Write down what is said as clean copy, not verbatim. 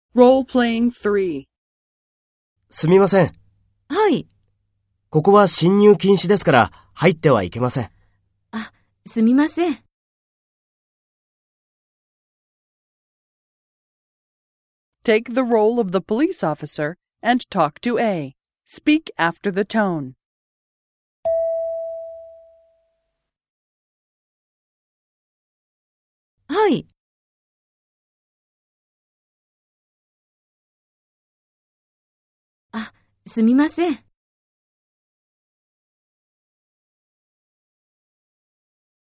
Role-playing 3. すみません。 はい。 ここは侵入禁止ですから入ってはいけません。 あ、すみません。 Take the role of the police officer and talk to A. Speak after the tone. はい。あ、すみません。